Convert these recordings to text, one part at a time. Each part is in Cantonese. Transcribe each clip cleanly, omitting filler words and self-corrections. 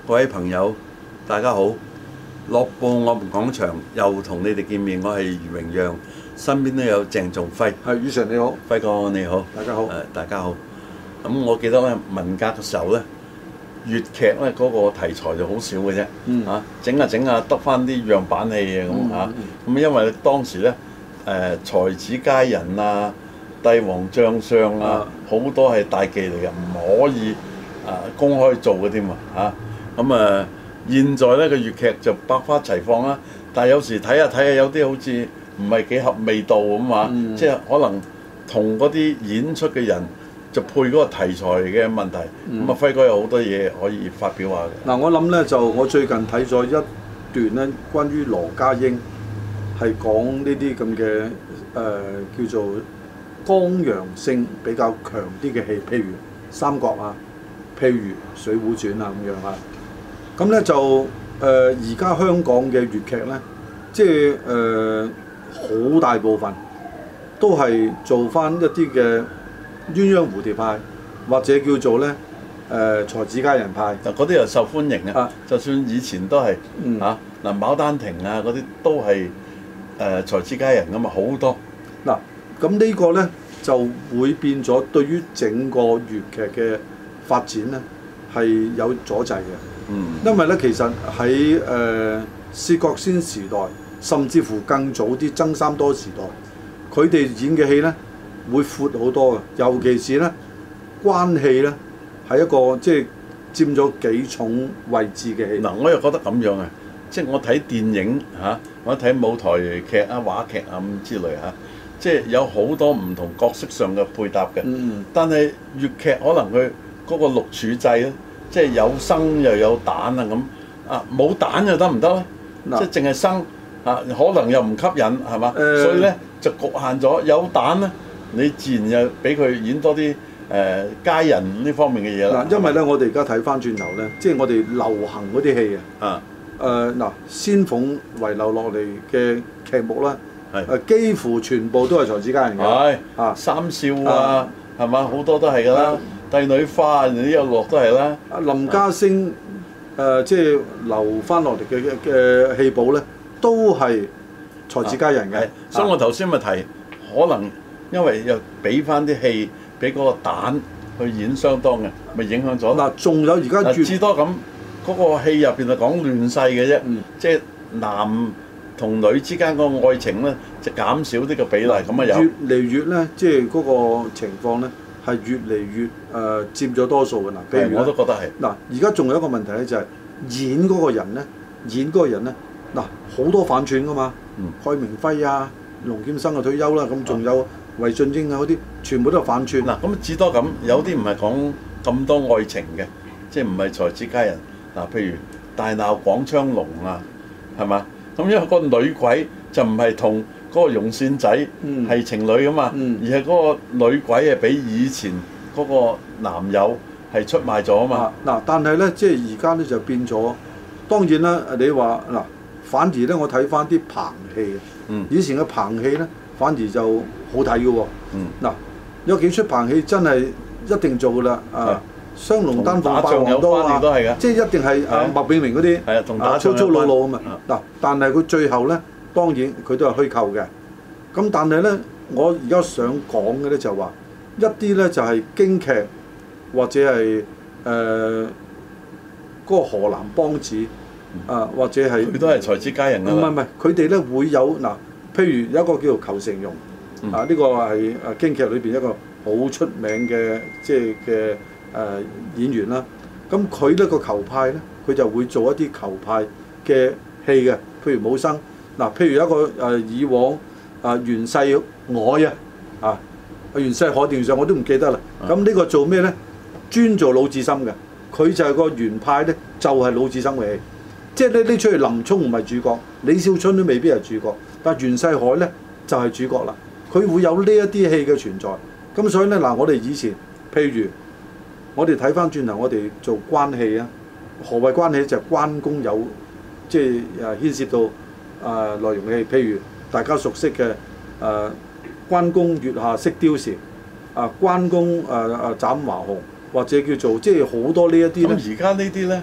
各位朋友，大家好！樂報我們講場又同你哋見面，我係余榮讓，身邊都有鄭仲輝。 係，宇常你好， 輝哥你好， 大家好。 大家好。咁我記得咧，文革嘅時候咧，粵劇咧嗰個題材就好少嘅啫。整下得翻啲樣板戲嘅咁嚇。咁因為當時咧，才子佳人啊、帝王將相啊，好多係大忌嚟嘅，唔可以公開做嘅添啊。現在咧個粵劇就百花齊放啦，但係有時睇下有啲好似唔係幾合味道咁啊，即係可能同嗰啲演出嘅人就配嗰個題材嘅問題。輝哥有好多嘢可以發表下嘅。 嗱，我諗咧就我最近睇咗一段咧，關於羅家英係講呢啲咁嘅叫做剛陽性比較強啲嘅戲，譬如《三國》啊，譬如《水滸傳》啊咁樣啊。咁咧就而家香港嘅粵劇咧，即係好大部分都係做翻一啲嘅鴛鴦蝴蝶派，或者叫做咧才子佳人派。 嗱，嗰啲又受歡迎嘅。就算以前都係嗱《牡丹亭》啊嗰啲都係才子佳人㗎嘛，好多。 嗱，咁呢個咧就會變咗對於整個粵劇嘅發展咧係有阻滯嘅。因為咧，其實喺薛覺先時代，甚至乎更早啲曾三多時代，佢哋演嘅戲咧會闊好多嘅，尤其是咧關戲咧係一個即係佔咗幾重位置嘅戲。 嗱，我又覺得咁樣啊，即係我睇電影或者睇舞台劇啊、話劇啊咁之類即係有好多唔同角色上嘅配搭嘅。但係粵劇可能佢嗰個六柱制咧。即係有生又有旦啊咁冇旦又得唔得咧？即係淨係生可能又唔吸引係嘛？所以咧就局限咗有旦咧，你自然又俾佢演多啲佳人呢方面嘅嘢啦。 因為咧我哋而家睇翻轉頭咧，即係我哋流行嗰啲戲仙鳳遺留落嚟嘅劇目啦，幾乎全部都係才子佳人嘅。 三少啊，係嘛？好多都係㗎啦。帝女花呢一落都係啦。 林家聲即係留翻落嚟嘅戲寶咧，都係才子佳人嘅。 所以我頭先咪提，可能因為又俾翻啲戲俾嗰個旦去演相當嘅，咪影響咗。 仲有而家至多咁嗰個戲入邊係講亂世嘅啫，即係男同女之間個愛情咧就減少啲嘅比例咁啊有。 越嚟越咧，即係嗰個情況咧。係越嚟越佔咗多數嘅嗱，譬如我都覺得係嗱，而家仲有一個問題咧，就係演嗰個人咧，嗱好多反串噶嘛，蓋明輝啊、龍劍生啊退休啦，咁仲有魏俊英啊嗰啲，全部都係反串。 嗱，咁至多咁，有啲唔係講咁多愛情嘅，即係唔係才子佳人嗱，譬如大鬧廣昌隆啊，係嘛？咁因為個女鬼就唔係同嗰個容倩仔係情侶噶嘛，而係嗰個女鬼係俾以前嗰個男友係出賣咗啊嘛。 嗱，但係咧，即係而家咧就變咗。當然啦，你話嗱，反而咧我睇翻啲棚戲，以前嘅棚戲咧反而就好睇嘅喎。嗱，有幾出棚戲真係一定做㗎啦。雙龍丹鳳霸王刀啊，即係一定係麥炳明嗰啲粗粗魯魯啊嘛。嗱，但係佢最後咧。當然佢都係虛構嘅，咁但係咧，我而家想講嘅咧就話一啲咧就係京劇或者係嗰個河南梆子或者係佢都係才子佳人㗎。 唔係，佢哋咧會有嗱，譬如有一個叫做裘成容呢個係京劇裏邊一個好出名嘅即係嘅演員啦。咁佢呢個裘派咧，佢就會做一啲裘派嘅戲嘅，譬如武生。嗱，譬如一個以往袁世凱袁世凱電視上我都唔記得啦。咁呢個做咩咧？專做魯智深嘅，佢就係個袁派咧，就係魯智深嘅戲。即係呢出戲林沖唔係主角，李少春都未必係主角，但係袁世凱咧就係主角啦。佢會有呢一啲戲嘅存在。咁所以咧嗱，我哋以前譬如我哋睇翻轉頭，我哋做關戲啊，何謂關戲？就係關公有即係牽涉到。內容嘅戲，譬如大家熟悉嘅關公月下識貂蟬，關公斬華雄，或者叫做即係好多呢一啲咧。 咁而家呢啲咧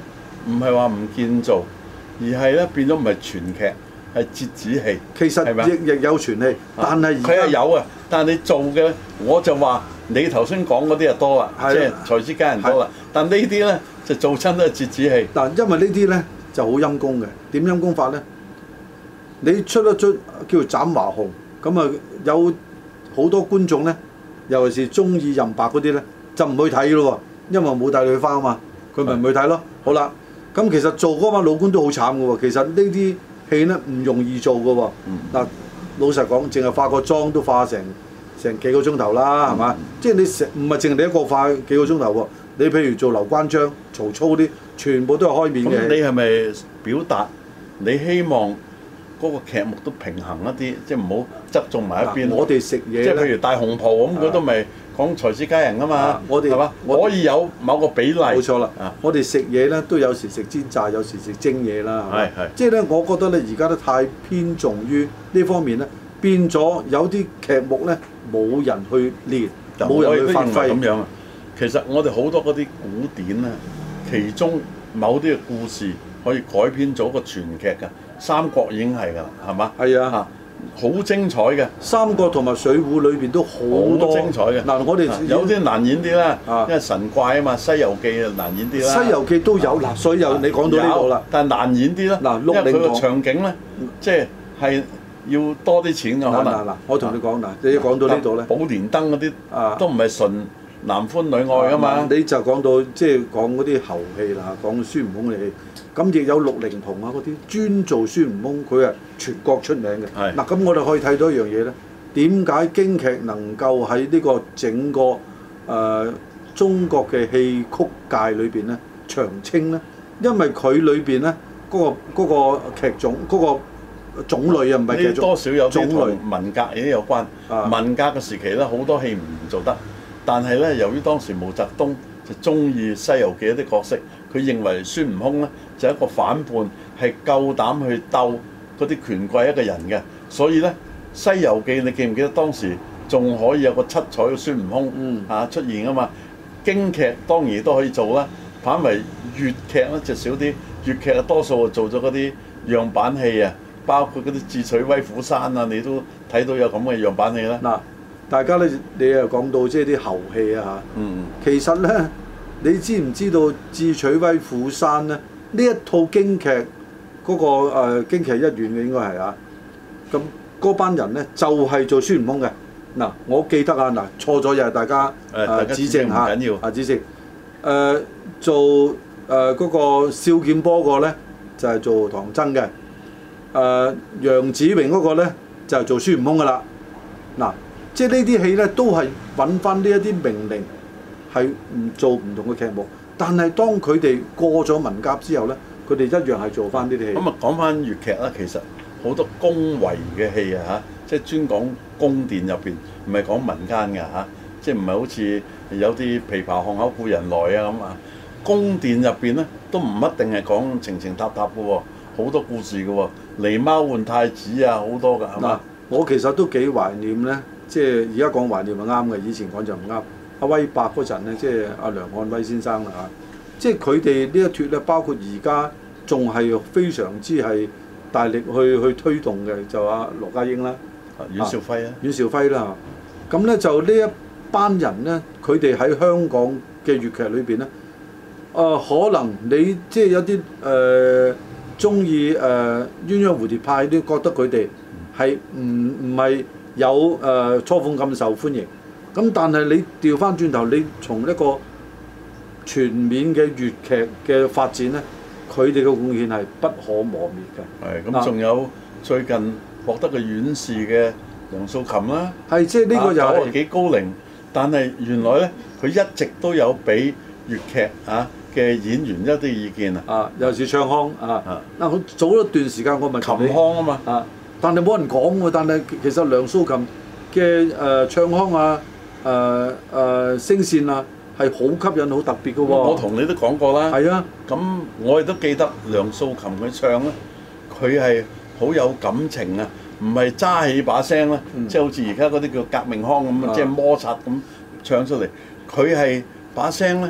唔係話唔見做，而係咧變咗唔係全劇，係折子戲。 其實亦有全戲，但係佢係有啊，但係你做嘅我就話你頭先講嗰啲就多啦，即係才子佳人多啦。但呢啲咧就做親都係折子戲。 嗱，因為呢啲咧就好陰功嘅。點陰功法咧？你出一出叫做《斬華雄》，咁啊有好多觀眾咧，尤其是中意任白嗰啲咧，就唔去睇咯喎，因為冇帶女花啊嘛，佢咪唔去睇咯。好啦，咁其實做嗰班老官都好慘嘅喎。其實呢啲戲咧唔容易做嘅喎。嗱，老實講，淨係化個妝都化成幾個鐘頭啦，係嘛？即係你唔係淨係你一個化幾個鐘頭喎。你譬如做劉關張、曹操啲，全部都係開面嘅。 咁你係咪表達你希望嗰個劇目都平衡一啲，即係唔好側重埋一邊？ 我哋食嘢， 即係譬如大紅袍咁，佢都咪講才子佳人啊嘛。我哋係嘛？可以有某個比例。 冇錯啦。我哋食嘢咧都有時食煎炸，有時食蒸嘢啦。係即係咧，我覺得咧而家都太偏重於呢方面咧，變咗有啲劇目咧冇人去練，冇人去發揮咁樣啊。其實我哋好多嗰啲古典咧，其中某啲嘅故事可以改編做一個全劇㗎，《三國》已經係㗎啦，係嘛？ 係啊， 好精彩嘅，《 三國》同埋《水滸》裏邊都好多精彩嘅。 嗱，我哋有啲難演啲啦，因為神怪啊嘛，《西遊記》啊難演啲啦， 《西遊記》都有嗱，所以又你講到呢度啦， 但係難演啲啦。嗱，因為佢個場景咧，即係要多啲錢㗎可能。 嗱，我同你講嗱，你講到呢度咧， 寶蓮燈嗰啲都唔係純男歡女愛噶嘛？ 你就講到即係講嗰啲猴戲啦，講孫悟空嘅戲，咁亦有陸靈童啊嗰啲專做孫悟空，佢係全國出名嘅。嗱，咁我哋可以睇到一樣嘢咧，點解京劇能夠喺呢個整個中國嘅戲曲界裏邊咧長青咧？因為佢裏邊咧嗰個劇種嗰個種類啊，唔係劇種， 多少有啲同文革亦都有關。文革嘅時期咧，好多戲唔做得。但係咧，由於當時毛澤東就中意《西遊記》一啲角色，佢認為孫悟空咧就係一個反叛，係夠膽去鬥嗰啲權貴一個人嘅，所以咧《西遊記》你記唔記得當時仲可以有個七彩嘅孫悟空出現啊嘛？京劇當然都可以做啦，反為粵劇咧就少啲，粵劇啊多數做咗嗰啲樣板戲啊，包括嗰啲《智取威虎山》啊，你都睇到有咁嘅樣板戲啦。 嗱。大家咧，你又講到即係啲猴戲啊嚇。其實咧，你知唔知道《智取威虎山》咧？呢一套京劇嗰個京劇一院嘅應該係啊。咁嗰班人咧就係做孫悟空嘅。嗱，我記得啊，嗱錯咗又係大家指正嚇。唔緊要。指正。做嗰個少劍波個咧就係做唐僧嘅。楊子榮嗰個咧就係做孫悟空噶啦。嗱。即係呢啲戲咧，都係揾翻呢一啲名伶，係唔做唔同嘅劇目。但係當佢哋過咗文革之後咧，佢哋一樣係做翻呢啲戲。咁講翻粵劇啦，其實好多宮闈嘅戲啊嚇，即係專講宮殿入邊，唔係講民間嘅嚇，即係唔係好似有啲琵琶巷口故人來啊咁啊。宮殿入邊咧都唔一定係講情情塔塔嘅喎，好多故事嘅喎，狸貓換太子啊，好多㗎係嘛？ 我其實都幾懷念咧。即係而家講懷念係啱嘅，以前講就唔啱。阿威伯嗰陣咧，即係阿梁漢威先生啦嚇，即係佢哋呢一脱咧，包括而家仲係非常之係大力去推動嘅，就阿羅家英啦、 阮兆輝啊、 阮兆輝啦。咁咧就呢一班人咧，佢哋喺香港嘅粵劇裏邊咧，可能你即係有啲中意鴛鴦蝴蝶派都覺得佢哋係唔係有初鳳咁受歡迎，咁但係你調翻轉頭，你從一個全面嘅粵劇嘅發展咧，佢哋嘅貢獻係不可磨滅嘅。 係咁，仲有最近獲得個院士嘅梁素琴啦， 係即係呢個又係幾高齡，但係原來咧佢一直都有俾粵劇嘅演員一啲意見尤其是唱腔嗱，早一段時間我咪琴腔啊嘛。 但係冇人講喎，但係其實梁素琴嘅唱腔聲線係好吸引、好特別嘅喎。 我同你都講過啦。 係啊， 咁我亦都記得梁素琴佢唱咧，佢係好有感情啊，唔係揸起把聲咧，即係好似而家嗰啲叫革命腔咁即係摩擦咁唱出嚟。佢係把聲咧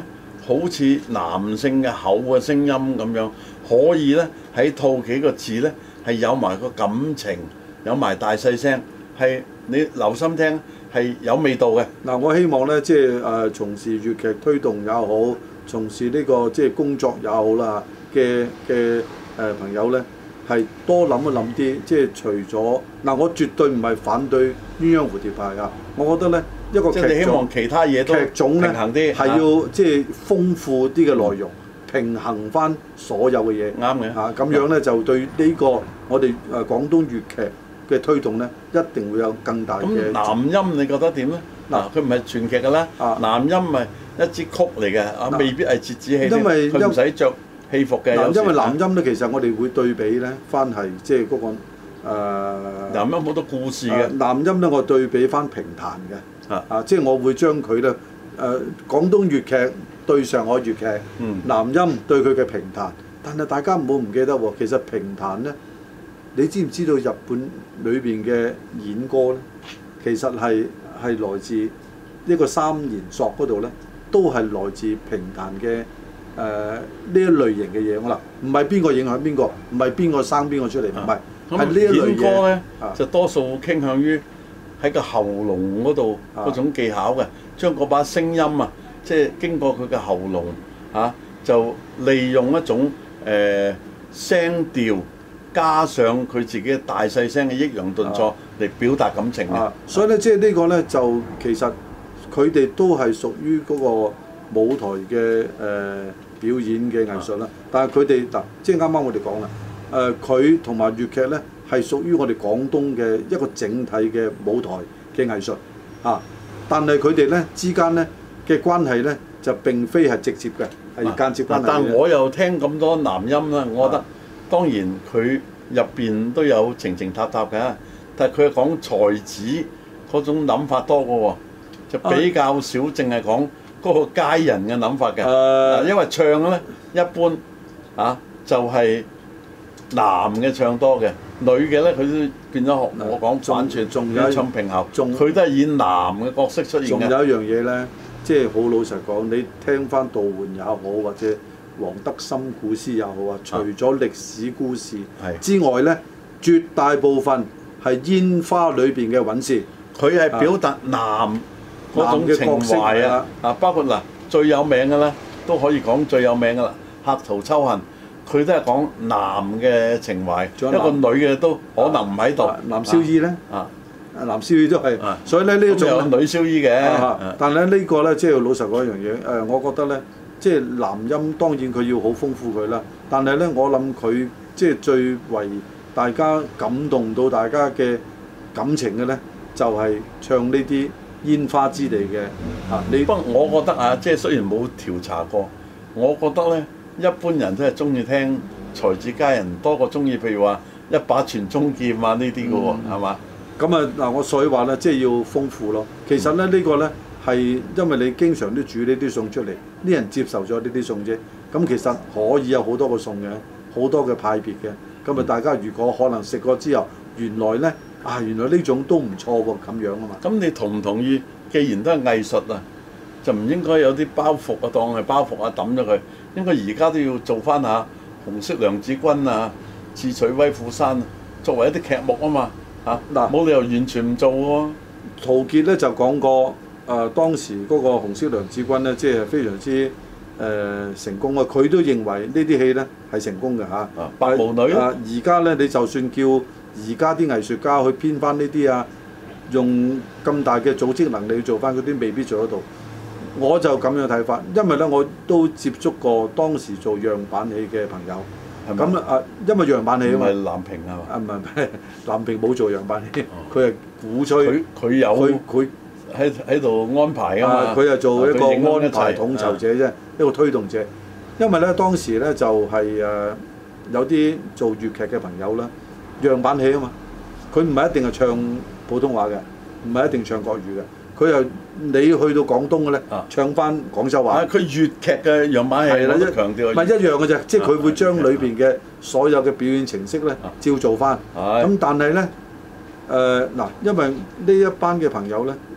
好似男性嘅厚嘅聲音咁樣，可以咧喺套幾個字咧係有埋個感情，有埋大細聲，係你留心聽係有味道嘅。 嗱，我希望咧即係從事粵劇推動也好，從事呢個即係工作也好啦嘅朋友咧，係多諗一諗啲，即係除咗嗱，我絕對唔係反對鴛鴦蝴蝶派啊，我覺得咧一個劇希望其他嘢都劇種咧平衡啲， 係要即係豐富啲嘅內容，平衡翻所有嘅嘢。 啱嘅嚇，咁樣咧就對呢個我哋廣東粵劇嘅推動咧，一定會有更大嘅。 咁南音你覺得點咧？嗱，佢唔係全劇㗎啦，南音咪一支曲嚟嘅，未必係折子戲， 因為佢唔使着戲服嘅。 因為南音咧，其實我哋會對比咧，翻係即係嗰個南音好多故事嘅。 南音咧，我對比翻評彈嘅，即係我會將佢咧廣東粵劇對上海粵劇，南音對佢嘅評彈。但係大家唔好唔記得喎，其實評彈咧，你知唔知道日本裏邊嘅演歌咧，其實係來自呢個三弦索嗰度咧，都係來自評彈嘅呢一類型嘅嘢。我嗱，唔係邊個影響邊個，唔係邊個生邊個出嚟，唔係，係呢一類嘢。 歌咧就多數傾向於喺個喉嚨嗰度嗰種技巧嘅，將嗰把聲音啊，即係經過佢嘅喉嚨就利用一種聲調，加上佢自己嘅大細聲嘅抑揚頓挫嚟表達感情嘅。 所以咧，即係呢個咧就其實佢哋都係屬於嗰個舞台嘅表演嘅藝術啦。但係佢哋嗱，即係啱啱我哋講啦，佢同埋粵劇咧係屬於我哋廣東嘅一個整體嘅舞台嘅藝術但係佢哋咧之間咧嘅關係咧就並非係直接嘅，係間接關係。 但我又聽咁多南音啦，我覺得當然佢入邊都有情情塔塔嘅，但係佢係講才子嗰種諗法多嘅喎，就比較少淨係講嗰個佳人嘅諗法嘅。因為唱咧一般就係男嘅唱多嘅，女嘅咧佢都變咗學我講反串，仲有唱平喉，佢都係以男嘅角色出現嘅。 仲有一樣嘢咧，即係好老實講，你聽翻杜煥也好，或者黃德森古詩也好除咗歷史故事之外咧，絕大部分係煙花裏邊嘅韻事， 佢係表達男嗰種情懷包括最有名嘅咧，都可以講最有名嘅啦，《客途秋恨》。佢都係講男嘅情懷，一個女嘅都可能唔喺度。 男燒衣咧，男燒衣都係，所以咧呢一種有女燒衣嘅。 但係咧呢個咧，即係老實講一樣嘢，我覺得咧，即係南音當然佢要好豐富佢啦。但係咧，我諗佢即係最為大家感動到大家嘅感情嘅咧，就係唱呢啲煙花之地嘅。 不過我覺得即係雖然冇調查過，我覺得咧。一般人都係中意聽才子佳人多過中意，譬如話一把傳中劍呢啲嘅喎，係嘛？ 咁嗱，我所以話咧，即係要豐富咯。其實咧，呢個咧係因為你經常都煮呢啲餸出嚟，啲人接受咗呢啲餸啫。咁其實可以有好多個餸嘅，好多嘅派別嘅。咁大家如果可能食過之後，原來咧原來呢種都唔錯喎，咁樣啊嘛。 咁你同唔同意？既然都係藝術就唔應該有啲包袱當係包袱抌咗佢。應該而家都要做翻下紅色娘子軍智取威虎山作為一啲劇目啊嘛冇理由完全唔做喎。 陶傑咧就講過當時嗰個紅色娘子軍咧，即係非常之成功啊！佢都認為呢啲戲咧係成功嘅白毛女而家咧你就算叫而家啲藝術家去編翻呢啲用咁大嘅組織能力去做翻嗰啲，未必做得到。我就咁樣睇法，因為咧我都接觸過當時做樣板戲嘅朋友，咁因為樣板戲啊嘛， 唔係藍屏係嘛？ 唔係藍屏冇做樣板戲，佢係鼓吹， 佢有佢喺度安排啊嘛， 佢係做一個安排統籌者啫，一個推動者。因為咧當時咧就係有啲做粵劇嘅朋友啦，樣板戲啊嘛，佢唔係一定係唱普通話嘅，唔係一定唱國語嘅。佢又你去到廣東嘅咧，唱翻廣州話。佢粵劇嘅樣板戲我都強調。 唔係一樣嘅啫，即係佢會將裏邊嘅所有嘅表演程式咧，照做翻。咁但係咧，因為呢一班嘅朋友咧，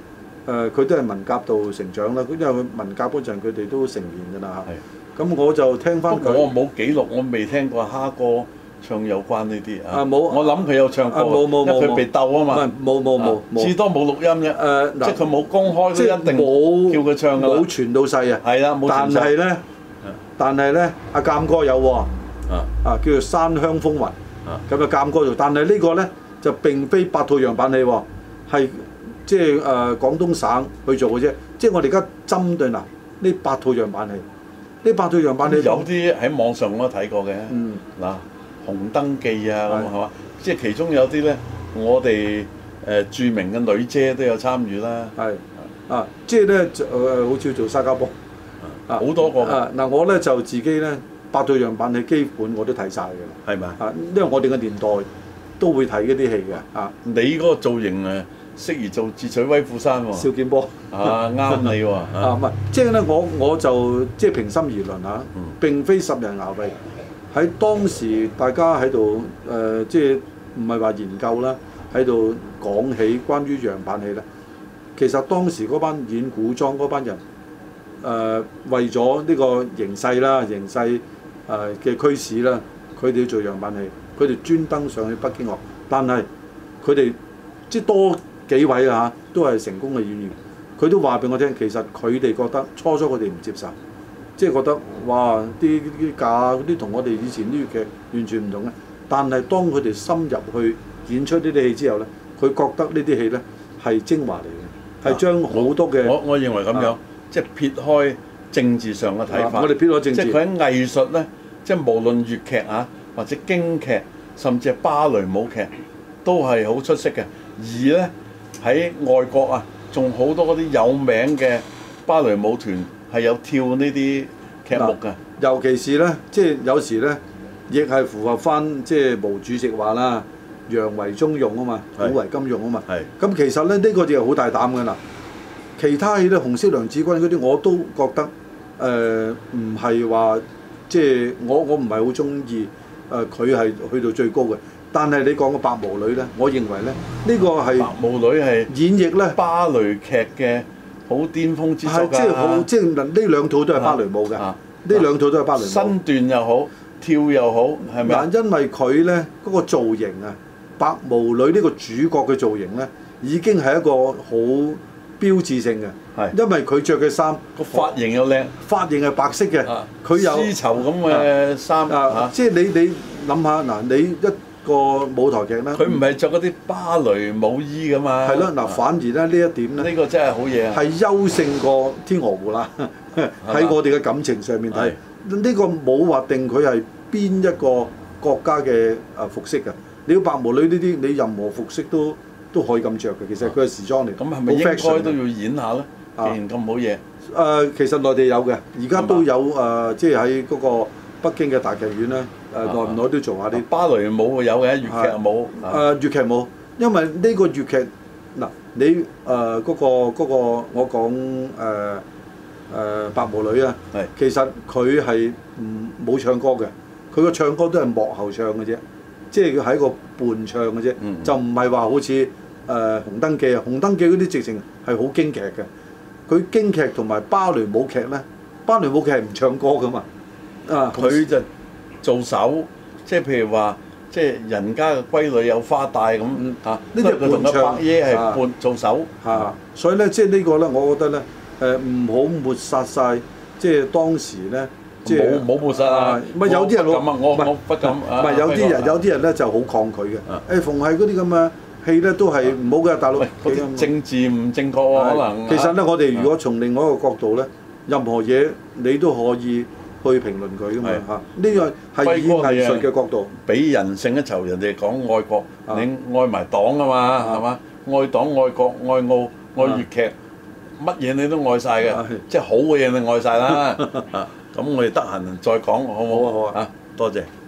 佢都係文革度成長啦。因為佢文革嗰陣佢哋都成年㗎啦嚇。咁我就聽翻佢。 我冇記錄，我未聽過蝦哥唱有關呢啲啊。 冇。 我諗佢有唱過， 冇因為佢被鬥啊嘛。 冇。 至多冇錄音啫。即係佢冇公開，都一定冇叫佢唱㗎啦。 冇傳到世啊。 係啦，冇傳世。 但係咧，阿鑑哥有喎。叫做山鄉風雲。咁啊鑑哥做，但係呢個咧就並非白兔樣板戲喎，係即係廣東省去做嘅啫。即係我哋而家針對嗱呢白兔樣板戲，呢白兔樣板戲有啲喺網上我都睇過嘅。嗱，紅燈記啊咁係嘛，即係其中有啲咧，我哋著名嘅女姐都有參與啦。 係即係咧好似做沙家浜好多個。 嗱我咧就自己咧。白兔樣板戲基本我都睇晒㗎啦， 係咪？ 因為我哋嘅年代都會睇嗰啲戲嘅。 你嗰個造型適宜做智取威虎山喎。 邵劍波啱你喎。 唔係，即係咧，我就即係平心而論嚇，並非十人牙位。喺當時大家喺度即係唔係話研究啦，喺度講起關於樣板戲咧。其實當時嗰班演古裝嗰班人為咗呢個形勢啦，形勢嘅驅使啦，佢哋要做樣板戲，佢哋專登上去北京學，但係佢哋即係多幾位啊，都係成功嘅演員，佢都話俾我聽，其實佢哋覺得初初佢哋唔接受，即係覺得哇啲架嗰啲同我哋以前啲粵劇完全唔同嘅，但係當佢哋深入去演出呢啲戲之後咧，佢覺得呢啲戲咧係精華嚟嘅，係將好多嘅我認為咁樣，即係撇開政治上嘅睇法， 我哋撇開政治， 即係佢喺藝術咧。即係無論粵劇或者京劇，甚至係芭蕾舞劇，都係好出色嘅。而咧喺外國仲好多嗰啲有名嘅芭蕾舞團係有跳呢啲劇目嘅。 尤其是咧，即係有時咧，亦係符合翻即係毛主席話啦，洋為中用啊嘛，古為今用啊嘛。咁其實咧呢個就係好大膽㗎啦。其他戲咧，紅色娘子軍嗰啲我都覺得唔係話。即係我唔係好中意佢係去到最高嘅，但係你講個白毛女咧，我認為咧呢個係白毛女係演繹咧芭蕾劇嘅好巔峰之作㗎。 即係好即係呢兩套都係芭蕾舞嘅，呢兩套都係芭蕾舞。身段又好，跳又好，係咪？ 嗱，因為佢咧嗰個造型白毛女呢個主角嘅造型咧，已經係一個好標誌性嘅。因為佢着嘅衫個髮型又靚， 髮型係白色嘅，佢有絲綢咁嘅衫即係你諗下嗱，你一個舞台劇咧， 佢唔係着嗰啲芭蕾舞衣㗎嘛。 係咯，嗱，反而咧呢一點咧， 呢個真係好嘢係優勝過天鵝湖啦。喺我哋嘅感情上面睇，呢個冇話定佢係邊一個國家嘅服飾㗎。你要白毛女呢啲，你任何服飾都可以咁着嘅。其實佢係時裝嚟。 咁係咪應該都要演下咧？既然咁好嘢， 其實內地有嘅，而家都有即係喺嗰個北京嘅大劇院咧，耐唔耐都做下啲芭蕾舞有嘅，粵劇冇。 粵劇冇，因為呢個粵劇嗱，你嗰個我講白毛女啊，其實佢係冇唱歌嘅，佢個唱歌都係幕後唱嘅啫，即係佢係一個伴唱嘅啫，就唔係話好似紅燈記紅燈記嗰啲直情係好京劇嘅。佢京劇同埋芭蕾舞劇咧，芭蕾舞劇係唔唱歌噶嘛， 佢就做手，即係譬如話，即係人家嘅閨女有花帶咁呢啲佢同個伯爺係伴做手所以咧即係呢個咧，我覺得咧唔好抹殺晒，即係當時咧，即係冇抹殺啊！ 咪有啲人我不敢， 唔係有啲人咧就好抗拒嘅，逢係嗰啲咁嘅戲咧都係唔好嘅，大陸政治唔正確喎，可能。 其實咧，我哋如果從另外一個角度咧，任何嘢你都可以去評論佢噶嘛嚇。呢個係以藝術嘅角度， 俾人勝一籌。人哋講愛國，你愛埋黨啊嘛，係嘛？愛黨、愛國、愛澳、愛粵劇，乜嘢你都愛晒嘅，即係好嘅嘢你愛晒啦。咁我哋得閒再講，好唔好？ 好啊， 多謝。